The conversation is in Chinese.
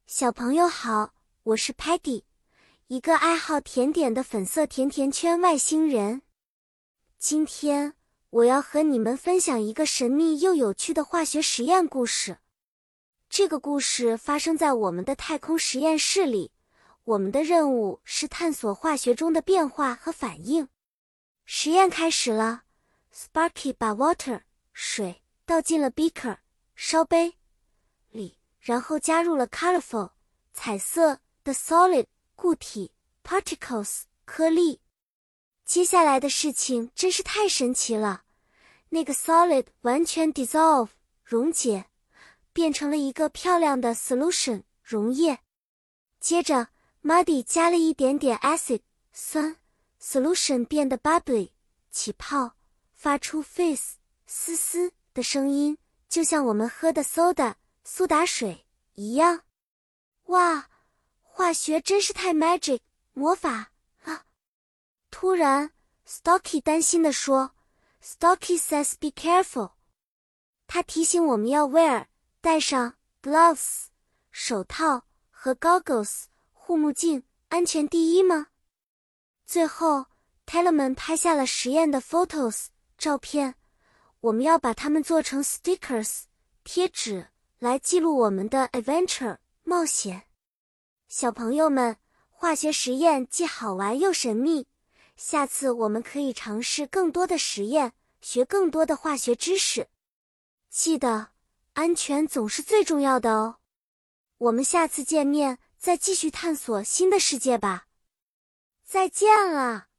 小朋友好，我是 Patty， 一个爱好甜点的粉色甜甜圈外星人。今天我要和你们分享一个神秘又有趣的化学实验故事。这个故事发生在我们的太空实验室里，我们的任务是探索化学中的变化和反应。实验开始了 ，Sparky 把 water 水倒进了 beaker 烧杯里，然后加入了 colorful 彩色的 solid 固体 particles 颗粒。接下来的事情真是太神奇了，那个 solid 完全 dissolve 溶解，变成了一个漂亮的 solution 溶液。接着 muddy 加了一点点 acid 酸 solution 变得 bubbly 起泡，发出 fizz 嘶嘶的声音，就像我们喝的 soda 苏打水一样。哇，化学真是太 magic 魔法了。突然 Stocky 担心地说 Stocky says be careful， 他提醒我们要 戴上 gloves 手套和 goggles 护目镜，安全第一吗？最后 Tellerman 拍下了实验的 photos 照片，我们要把它们做成 stickers 贴纸来记录我们的 adventure 冒险。小朋友们，化学实验既好玩又神秘，下次我们可以尝试更多的实验，学更多的化学知识。记得，安全总是最重要的哦。我们下次见面再继续探索新的世界吧。再见了。